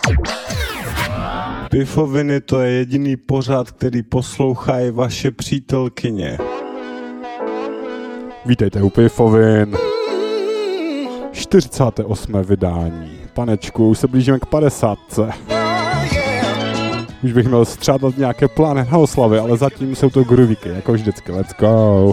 Pifoviny, to je jediný pořad, který poslouchají vaše přítelkyně. Vítejte u Pifovin. 48. vydání. Panečku, už se blížíme k 50. Už bych měl střádat nějaké plány na oslavy, ale zatím jsou to groovíky, jako vždycky. Let's go.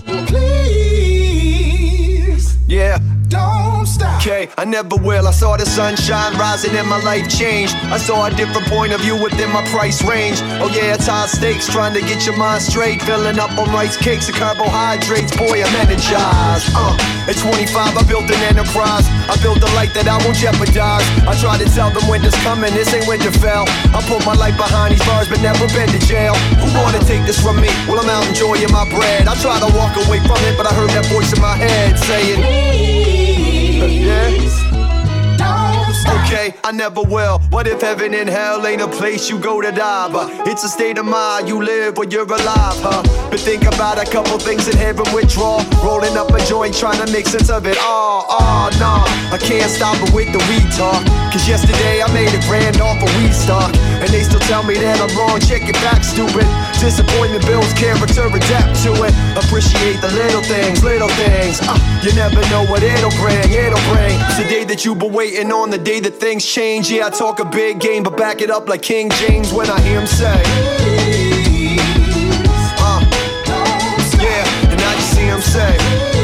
Yeah, don't stop. Okay, I never will. I saw the sunshine rising and my life changed. I saw a different point of view within my price range. Oh yeah, it's high stakes, trying to get your mind straight. Filling up on rice cakes and carbohydrates. Boy, I'm energized. At 25, I built an enterprise. I built a life that I won't jeopardize. I try to tell them winter's coming, this ain't Winterfell. I put my life behind these bars, but never been to jail. Who wanna take this from me? Well, I'm out enjoying my bread. I try to walk away from it, but I heard that voice in my head saying, yeah. Okay, I never will. What if heaven and hell ain't a place you go to die? But it's a state of mind, you live when you're alive, huh? But think about a couple things in heaven withdraw. Rolling up a joint, trying to make sense of it all. Oh, nah, I can't stop it with the weed talk. Cause yesterday I made $1,000 off of weed stock. And they still tell me that I'm wrong, check it back, stupid. Disappointment builds character, adapt to it. Appreciate the little things, you never know what it'll bring. It's the day that you've been waiting on, the day that things change. Yeah, I talk a big game, but back it up like King James when I hear him say, yeah, and I just see him say,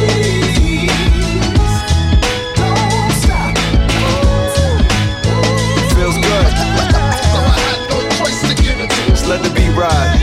feels good. Just let the beat ride.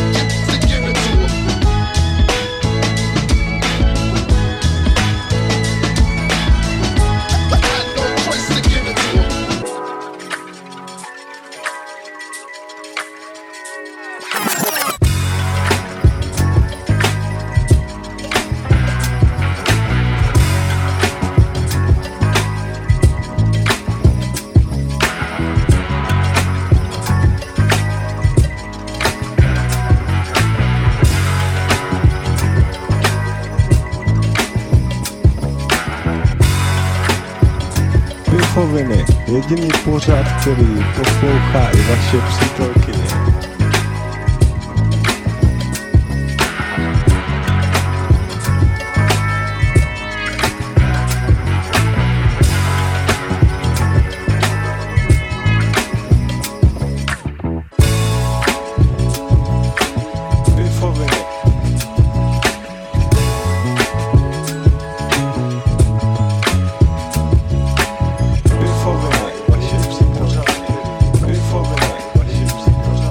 Pifoviny, jediný pořad, který poslouchá i vaše přítelkyně. Pifoviny, vaše přítelkyně.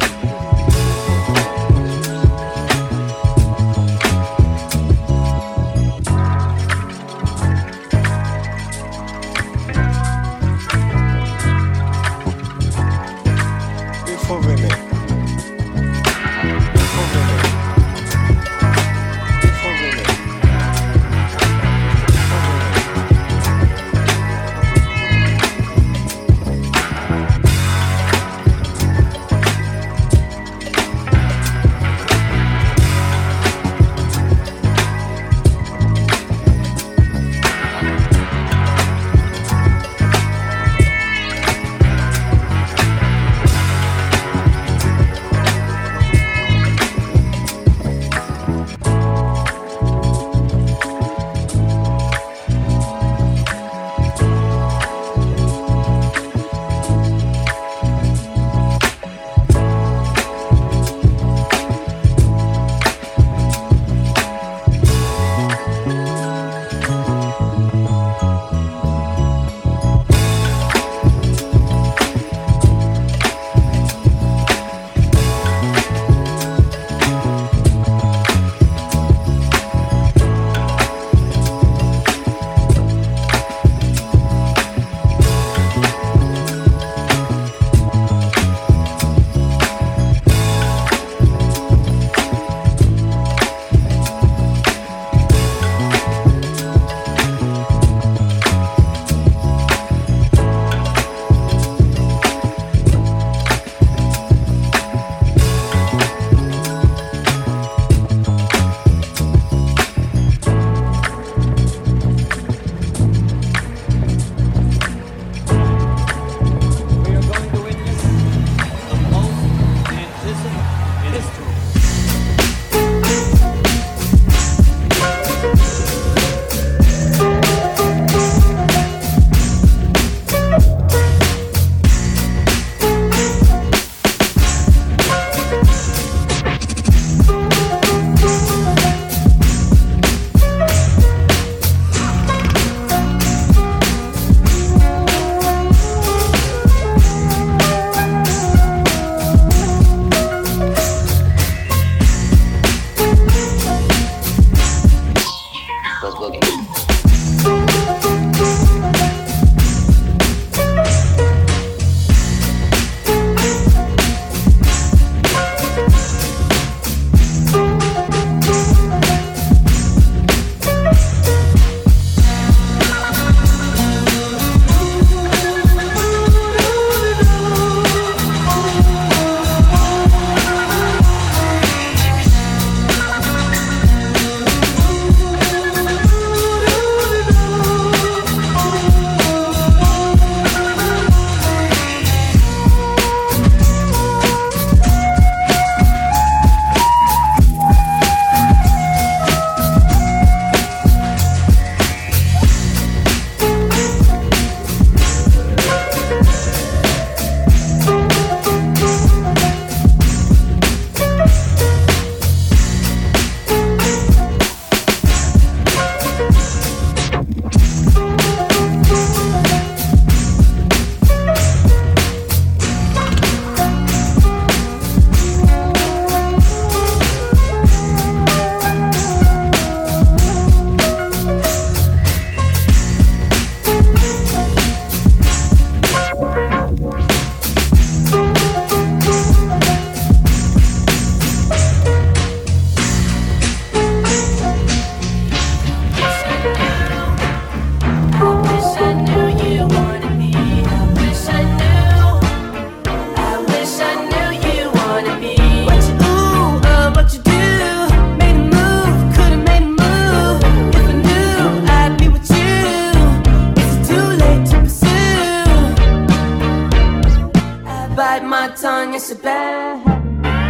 bite my tongue, it's a bad habit.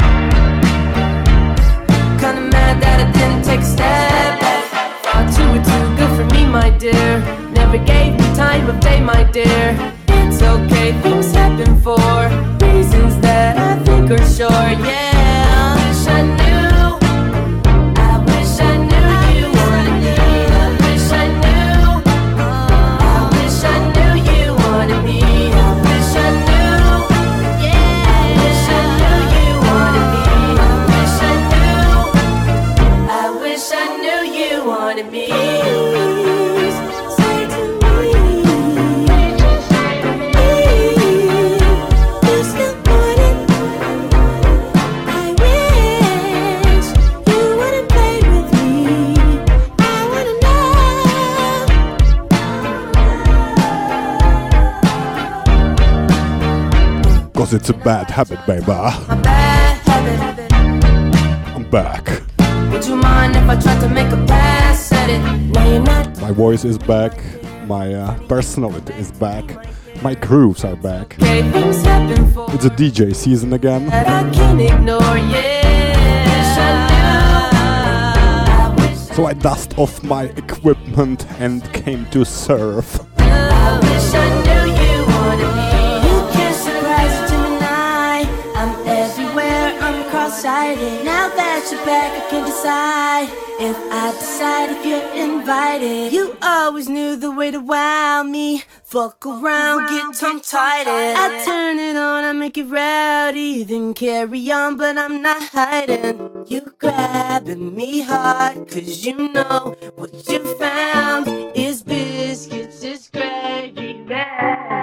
Kinda mad that I didn't take a step back. Thought you were too good for me, my dear. Never gave me time of day, my dear. It's okay, things happen for reasons that I think are sure, yeah. I wish I knew, I wish I knew you wanted me. I wish I knew, I wish I knew you wanted me. I wish I knew, yeah. I wish I knew you wanted me. I wish I knew, I wish I knew you wanted me. Cause it's a bad habit, baby. A bad habit. I'm back. Would you mind if I tried to make a pass at it? No, you're not. My voice is back. My personality is back. My grooves are back. Okay, things happen for It's a DJ season again. that I can't ignore, yeah. So I dust off my equipment and came to surf. I wish I knew you wanted me. You can't surprise a Gemini. I'm everywhere, I'm cross-sighted. Now that you're back, I can decide if I decide if you're invited. You always knew the way to wow me. Fuck around, get tongue-tied. I turn it on, I make it rowdy. Then carry on, but I'm not hiding. You grabbing me hard, cause you know what you found is biscuits, is gravy, bad.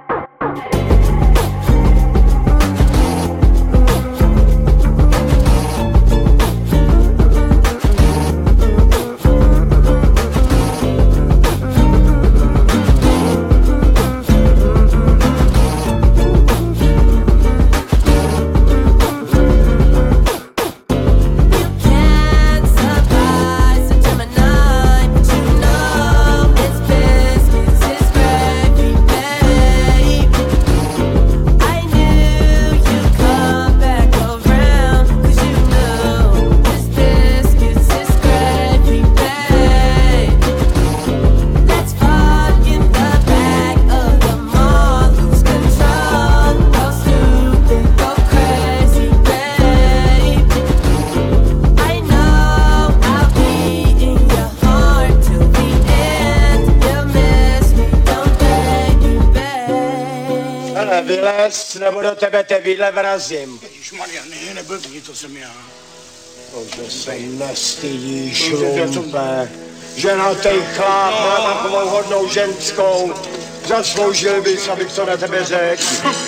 Vylez, nebo do tebe te vidle vrazím. Ježišmarja, ne, neblbni, to jsem já. Že se nestydíš, lumpe. Ženatej chlap má takovou hodnou ženskou. Zasloužil bys, abych to na tebe řekl.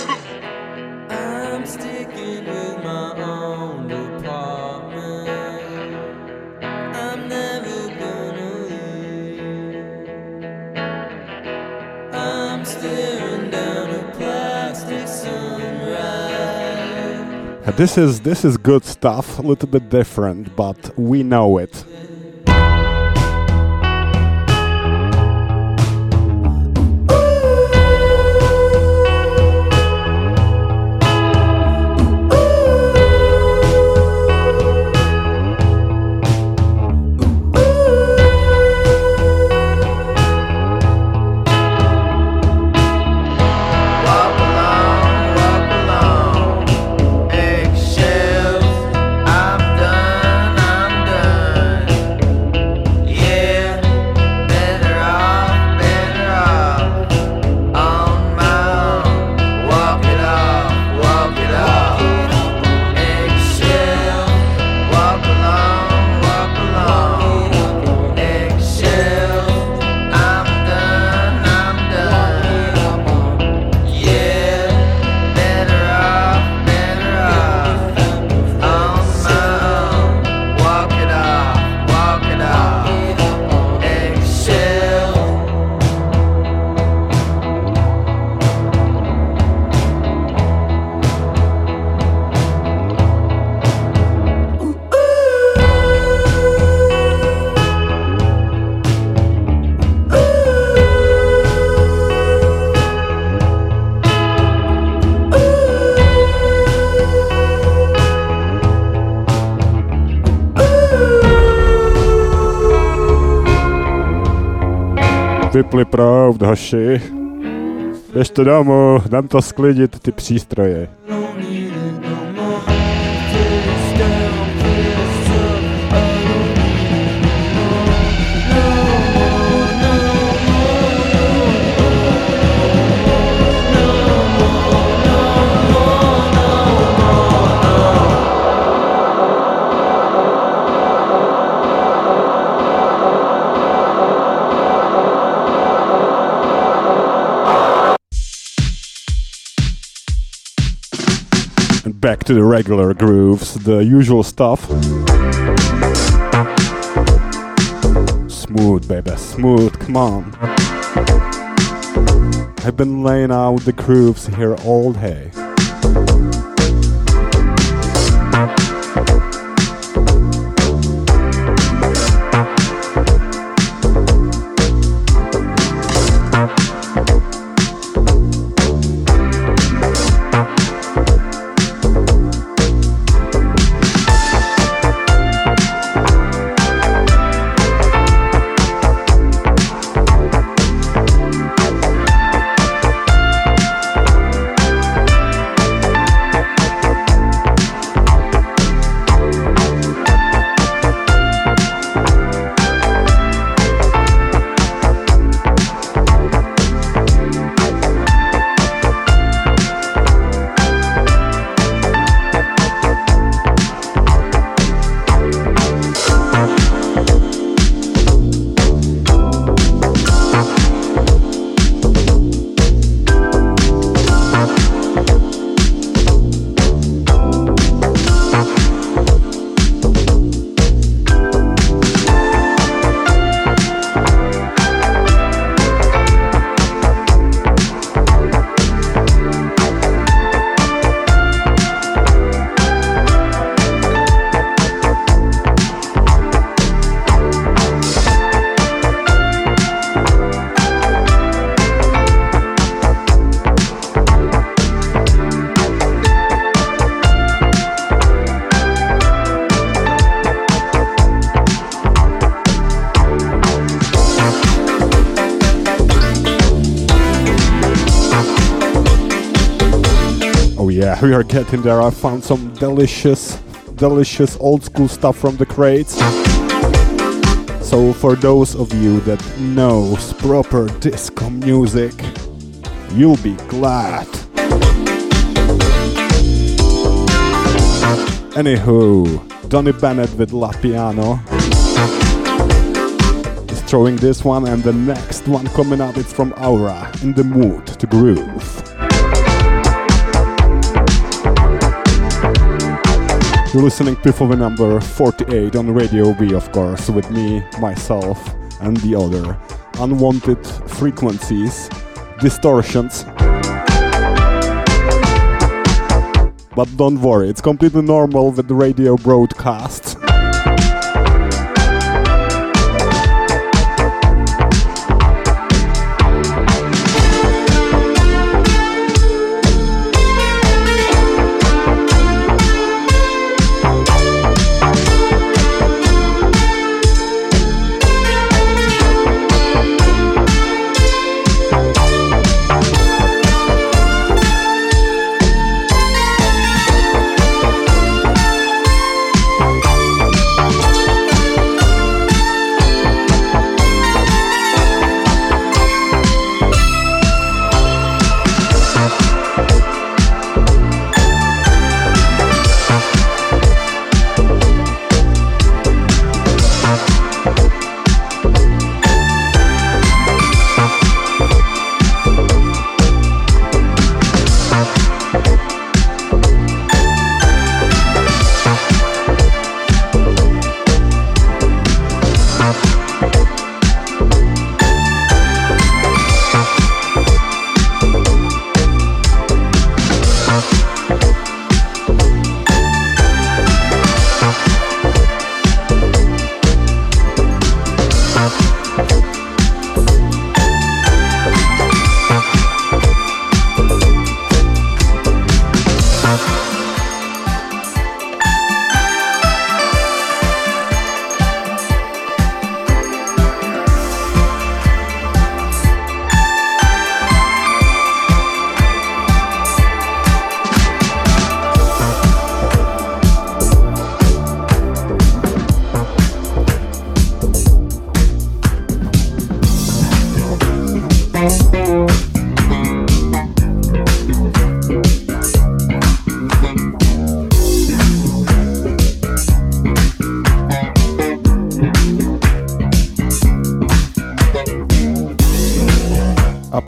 This is good stuff, a little bit different, but we know it. I'm done. vypli proud, hoši. Běžte domů, dám to sklidit, ty přístroje. Back to the regular grooves, the usual stuff. Smooth, baby, smooth, come on. I've been laying out the grooves here all day. Yeah, we are getting there. I found some delicious old school stuff from the crates. So for those of you that knows proper disco music, you'll be glad. Anywho, Donny Bennett with La Piano is throwing this one, and the next one coming up is from Aura, In the Mood to Groove. You're listening to Piffle number 48 on Radio B, of course, with me, myself, and the other unwanted frequencies, distortions. But don't worry, it's completely normal with the radio broadcasts.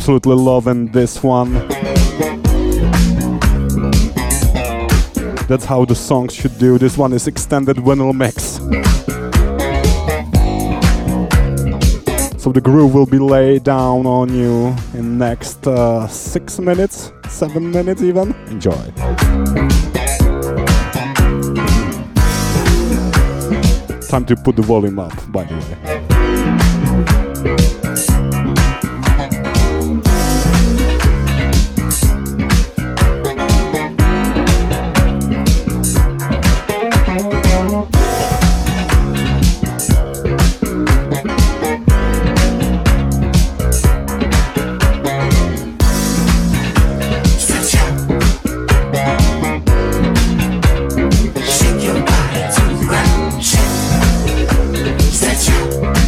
absolutely loving this one. That's how the songs should do. This one is extended vinyl mix. So the groove will be laid down on you in next 6 minutes, 7 minutes even. Enjoy. Time to put the volume up, by the way. Shake your body to the ground, shake, stretch out.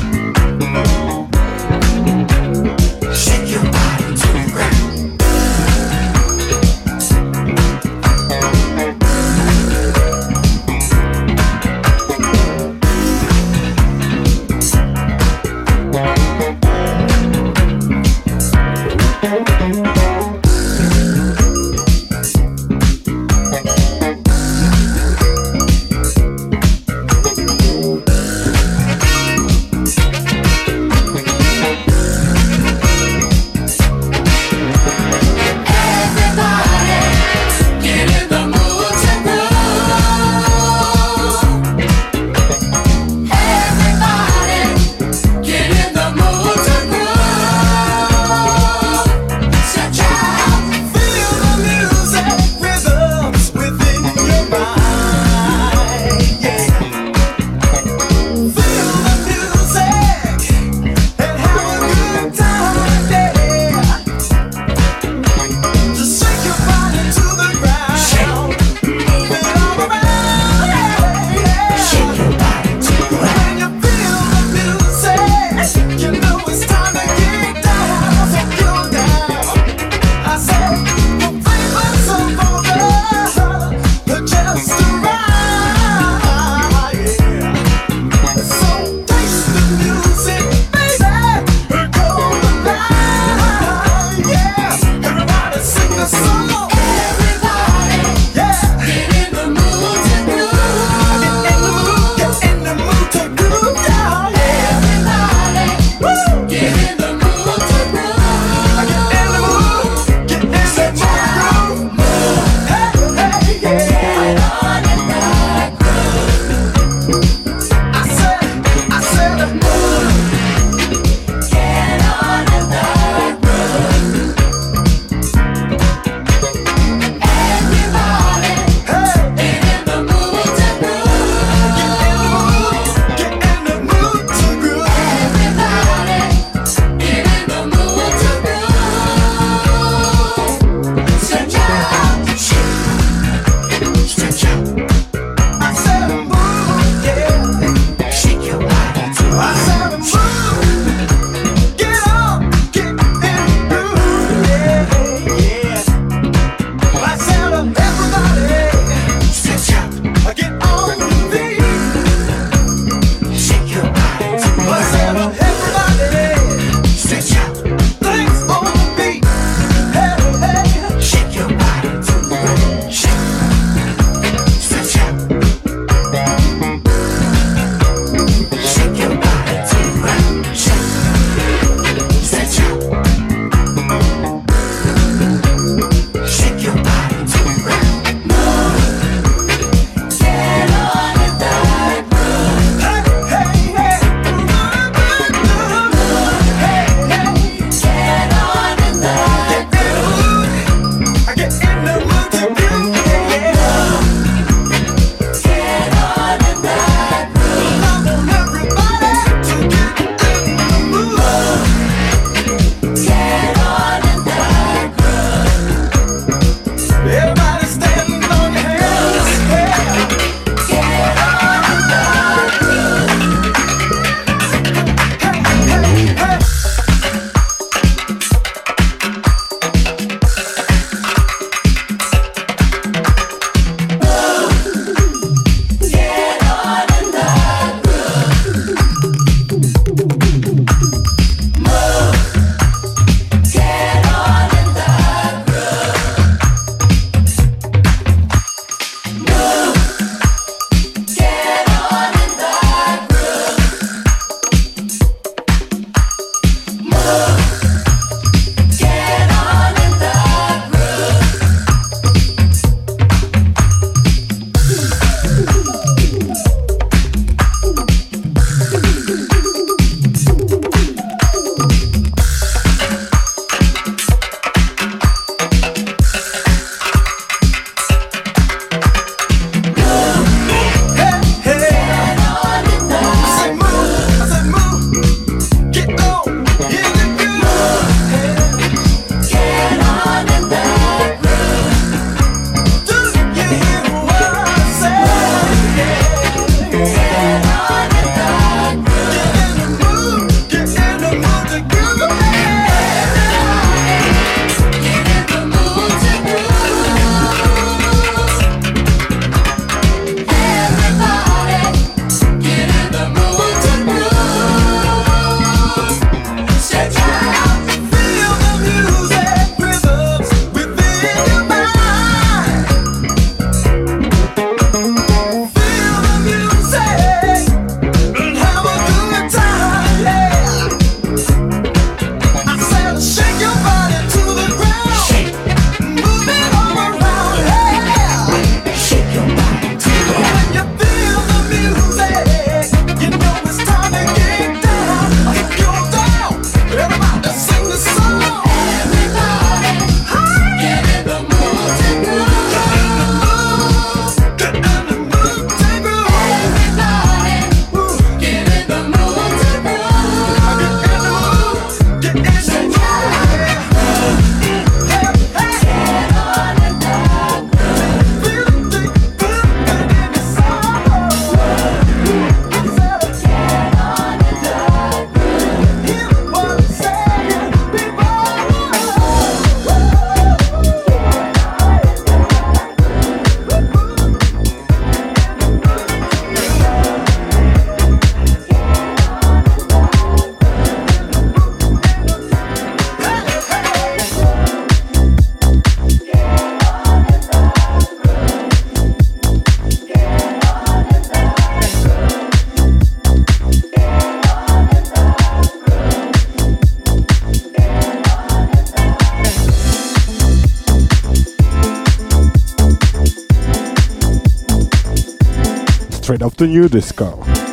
straight up to new disco.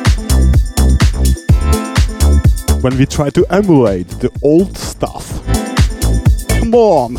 When we try to emulate the old stuff. Come on!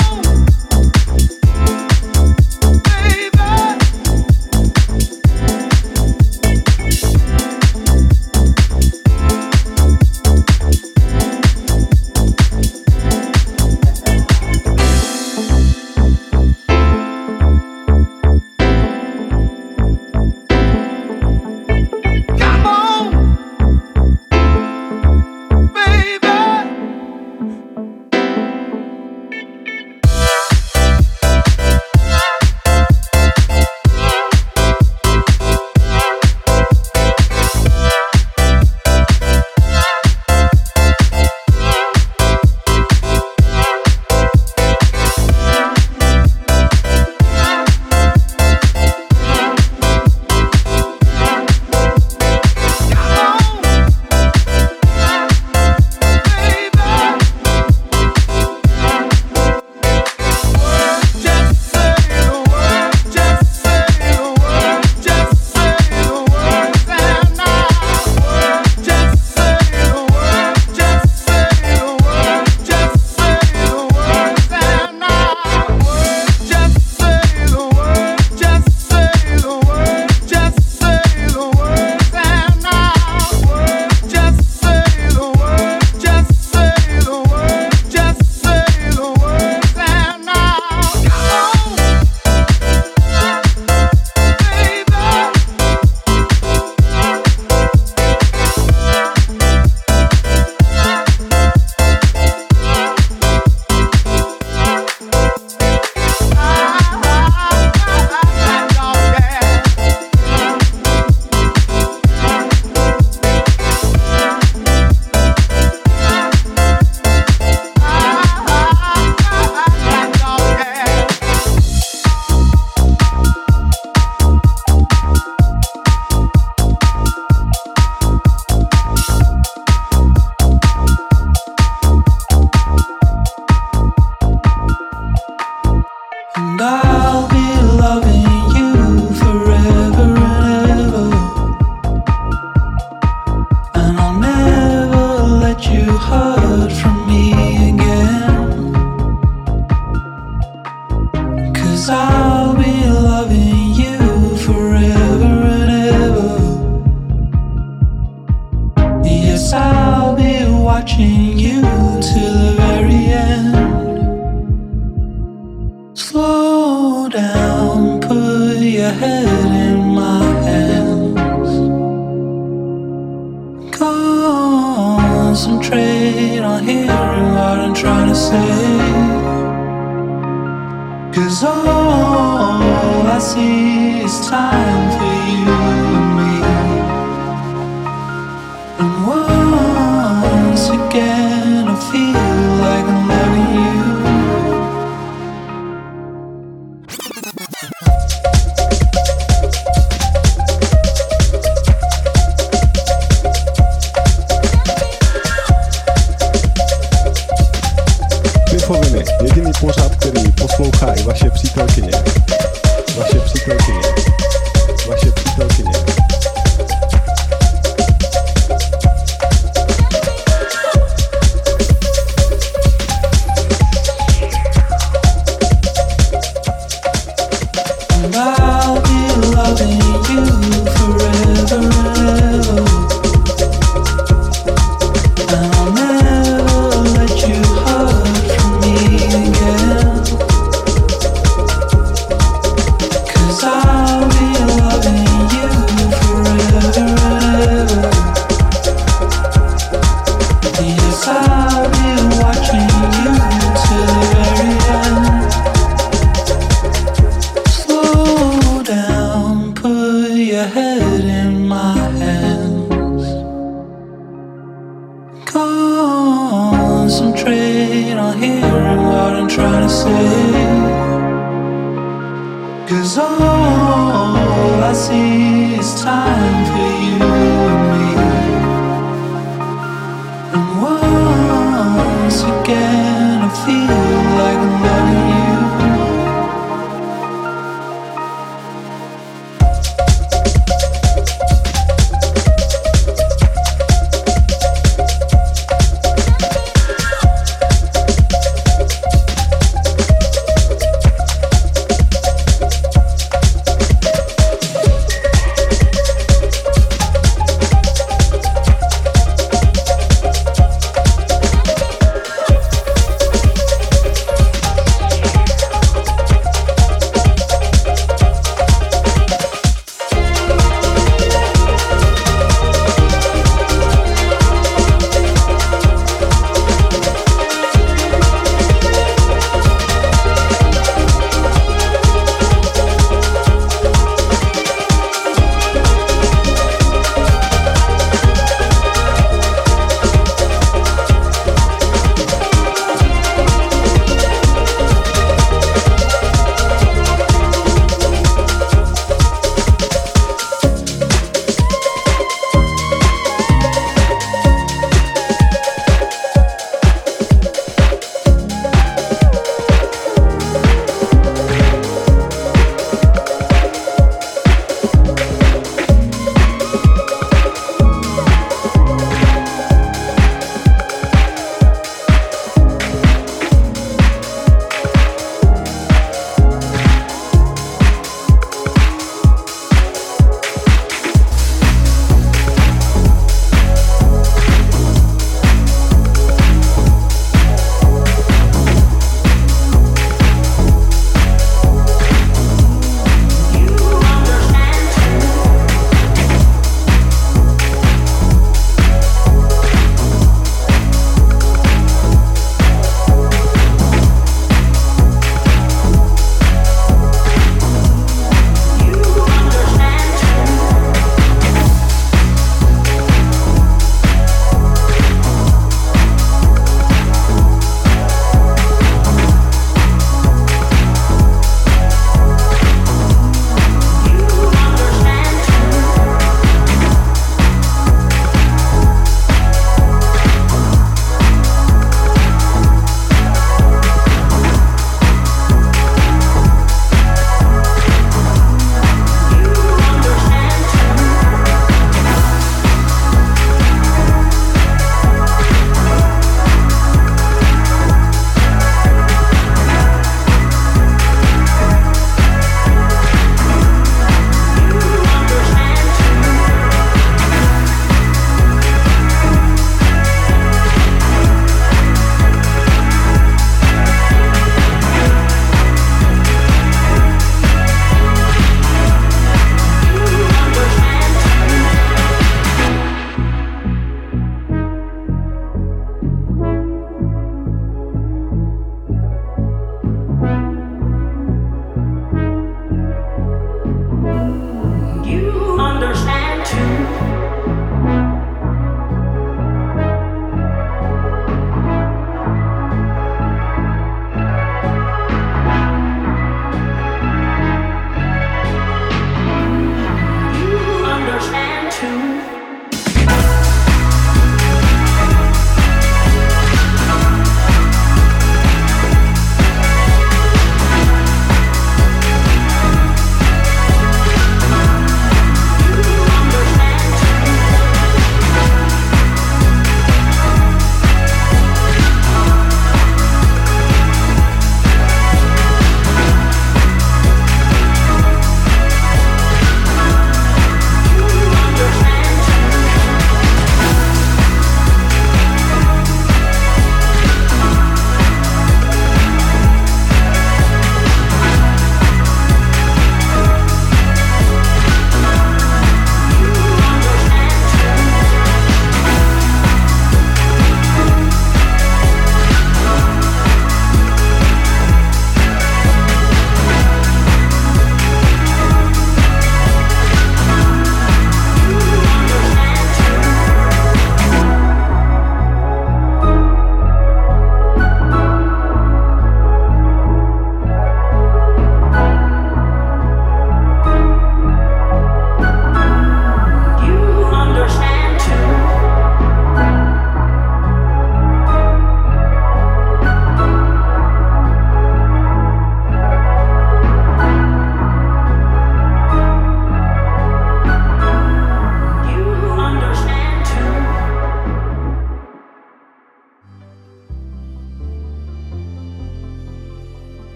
Jediný pořad, který poslouchá i vaše přítelkyně. Vaše přítelkyně. Vaše přítelkyně.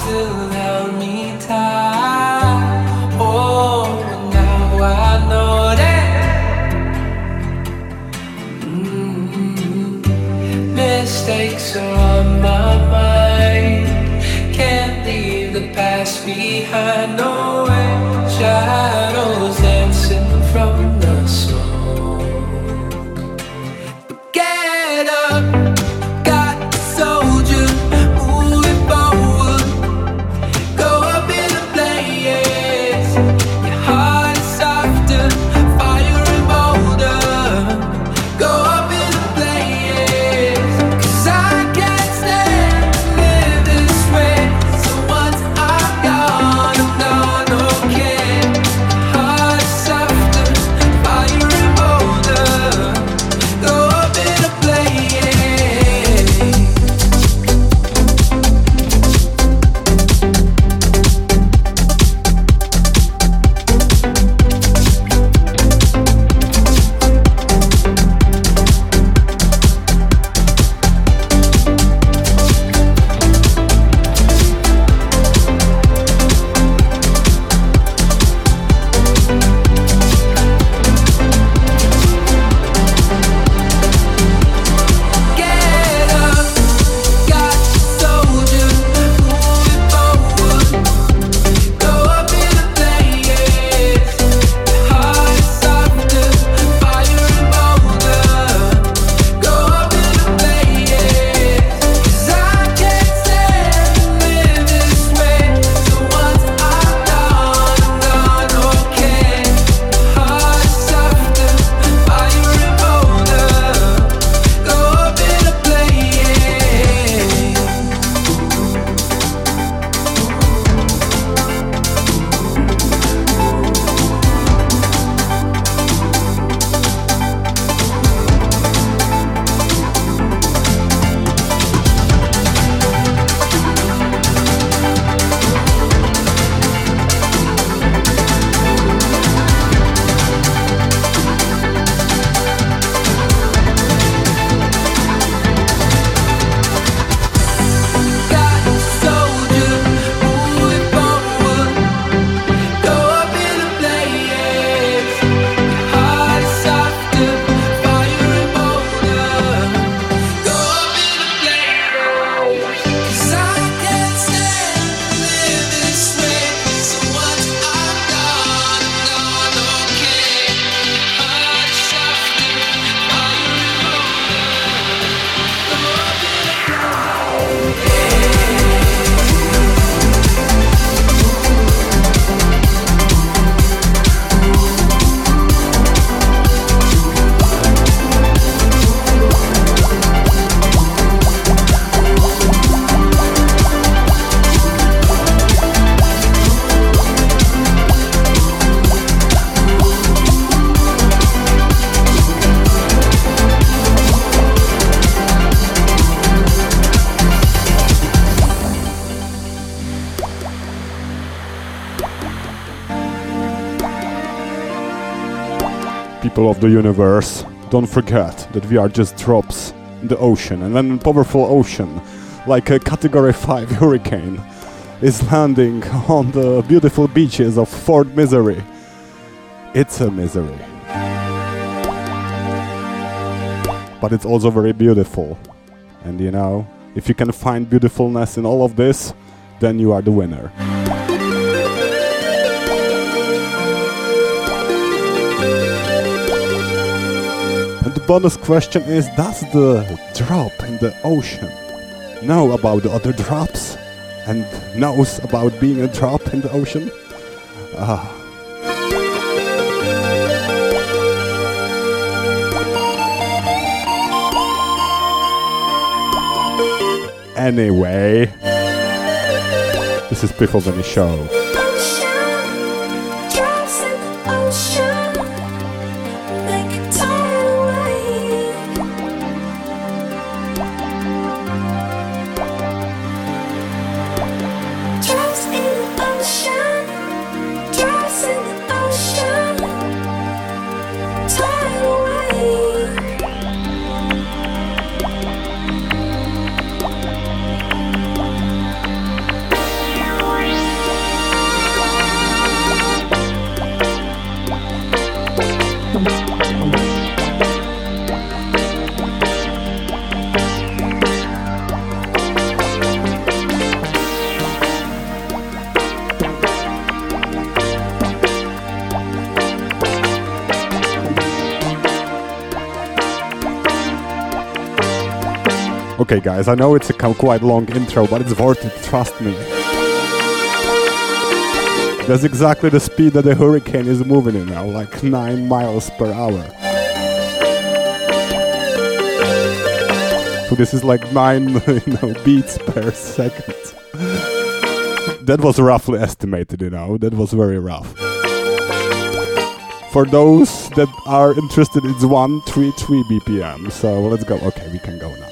still held me tight. Oh, now I know that mistakes are on my mind. Can't leave the past behind. No way, shadows dancing from the smoke. Get up, got the soldier, moving forward. Go up in the blaze. Your heart is softer, fire and bolder. Go up in the blaze. 'Cause I can't stand to live this way. So once I'm gone, okay. Heart is softer, fire and bolder. Go up in the blaze. Get up, got the soldier, moving forward. Go up in the blaze. Your heart is softer, fire and bolder. Go up in the blaze. 'Cause I can't stand to live this way. So once I'm gone, okay. Heart is softer, fire and bolder. Go up in the blaze. Got the soldier, moving forward. Go up in the blaze. Your heart is softer, fire and bolder. Go up in the blaze. 'Cause I can't stand to live this way. So once I'm gone, okay. Heart is softer, fire and bolder. Go up in the People of the universe, don't forget that we are just drops in the ocean, and when a powerful ocean, like a Category 5 hurricane, is landing on the beautiful beaches of Fort Misery, it's a misery. But it's also very beautiful. And you know, if you can find beautifulness in all of this, then you are the winner. And the bonus question is, does the drop in the ocean know about the other drops? And knows about being a drop in the ocean? Anyway, this is Piffle Benny Show. Okay, guys, I know it's a quite long intro, but it's worth it, trust me. That's exactly the speed that the hurricane is moving in now, like 9 miles per hour. So this is like 9 beats per second. That was roughly estimated, that was very rough. For those that are interested, it's 133 BPM, so let's go. Okay, we can go now.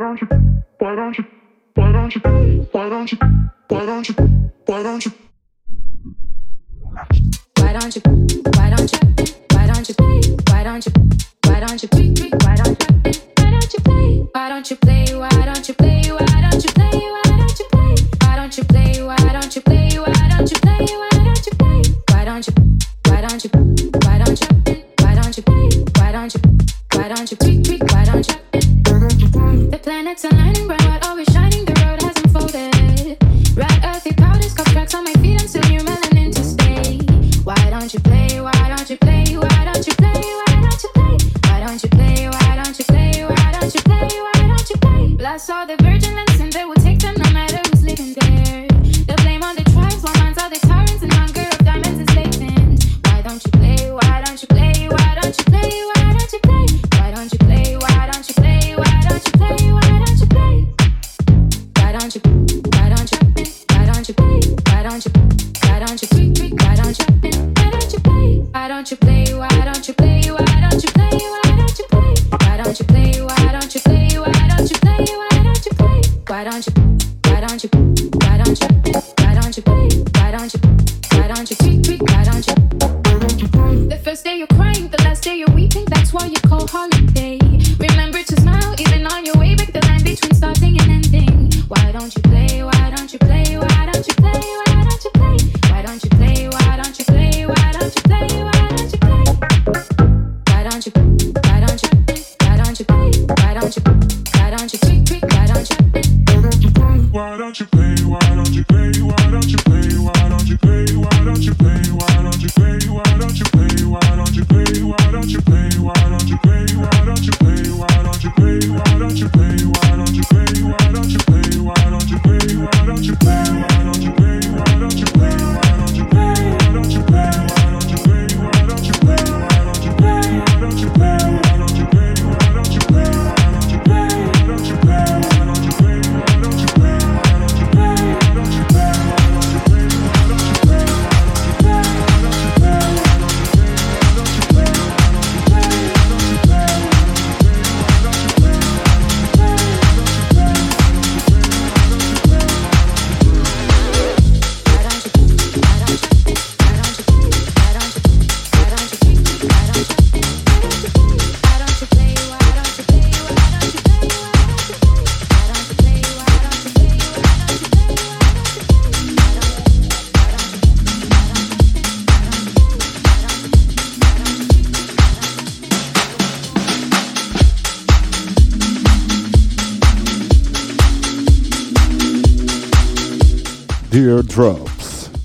Teardrops.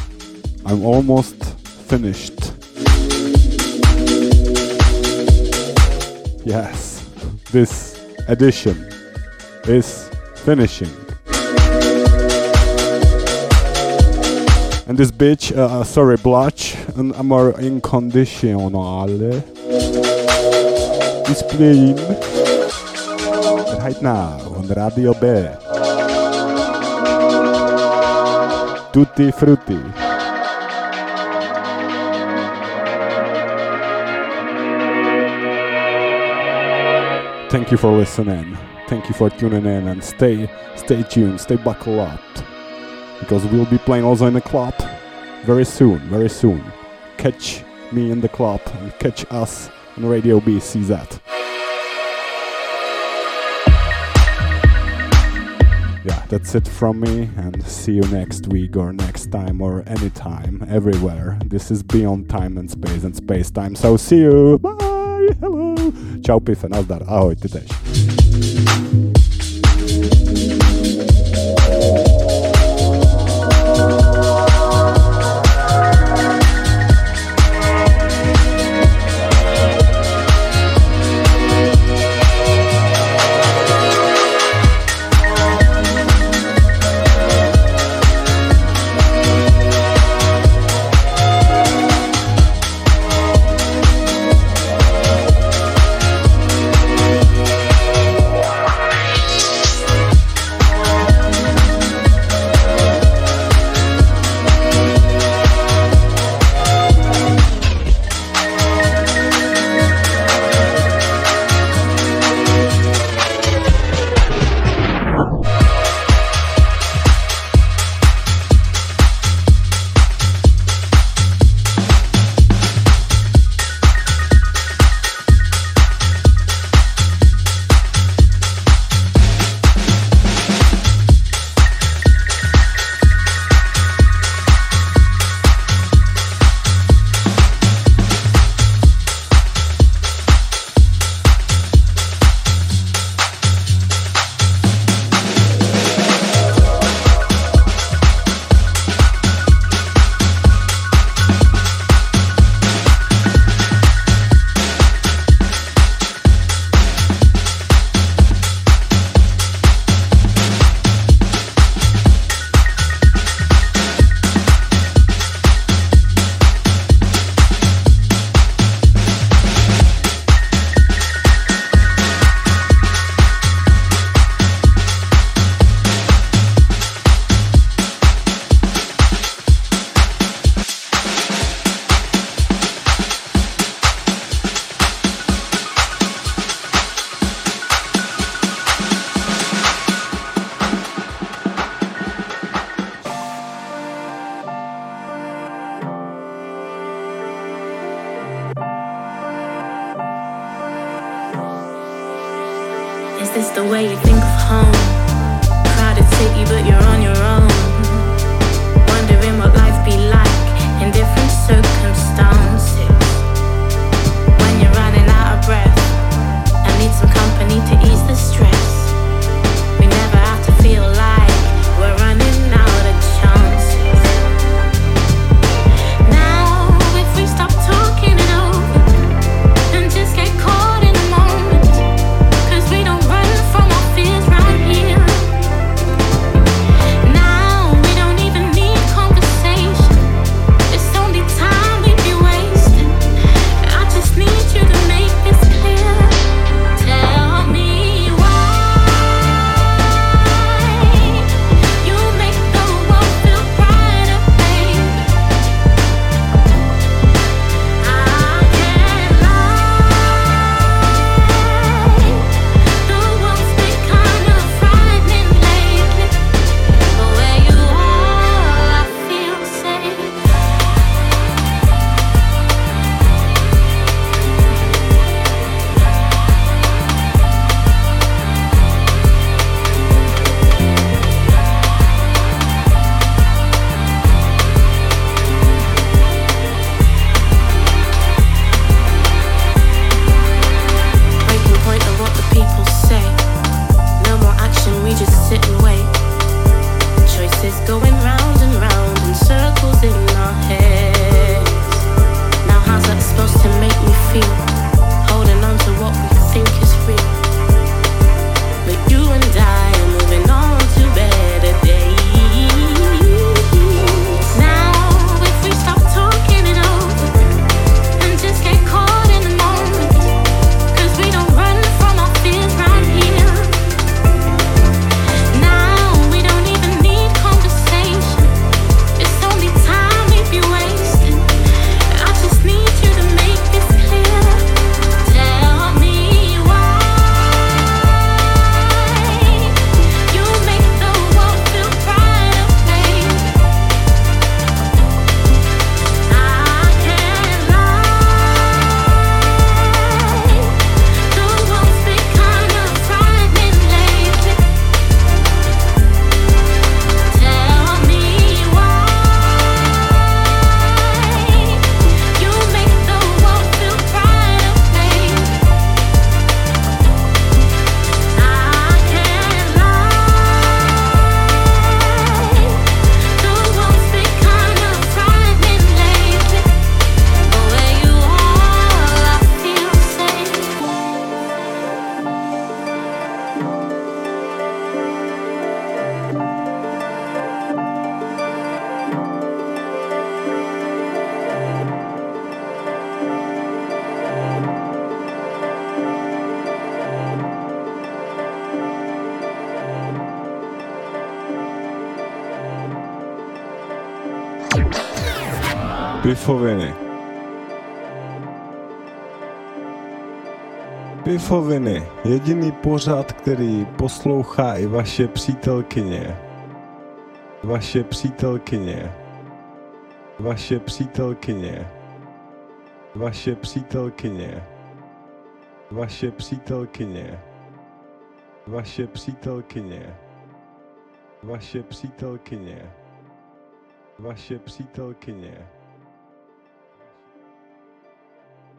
I'm almost finished. Yes, this edition is finishing. And this bitch, sorry, Blotch, an amor incondizionale is playing right now on Radio B. Tutti Frutti. Thank you for listening. Thank you for tuning in, and stay tuned, stay buckled up, because we'll be playing also in the club very soon, very soon. Catch me in the club and catch us on Radio BCZ. Yeah, that's it from me, and see you next week or next time or anytime, everywhere. This is Beyond Time and Space Time, so see you! Bye! Hello! Ciao Pife, nazdar, ahoj, ty tež. Is this the way you think of home? Crowded city, but you're on your own. Wondering what life be like in different circumstances. When you're running out of breath, I need some company to ease the stress. We never have to feel like we're running out of chances. Now, if we stop talking it over and just get caught in the moment, 'cause we don't run from our fears right here. Now, we don't even need conversation. It's only time we'd be wasting. I just need you to make this clear. Tell me why you make the world feel brighter, babe. I can't lie. The world's been kind of frightening lately, but where you are, I feel safe. Breaking point of what the people say. No more action, we just sit and wait. Choices going round and round in circles in our heads. Now how's that supposed to make me feel? Holding on to what we think is real. But you and I are moving on to better days. Now if we stop talking it over and just get caught in the moment, 'cause we don't run from our fears right here. Now we don't even need conversation. It's only time we'd be wasting. I just need you to make this clear. Tell me why you make the world feel brighter, babe. I can't lie. The world's been kind of frightening lately. Tell me why you make the world feel brighter, babe. I can't lie. The world's been kind of frightening lately, but where you are, I feel safe. Pifoviny. Pifoviny. Jediný pořad, který poslouchá i vaše přítelkyně. Vaše přítelkyně. Vaše přítelkyně. Vaše přítelkyně. Vaše přítelkyně. Vaše přítelkyně. Vaše přítelkyně. Vaše přítelkyně.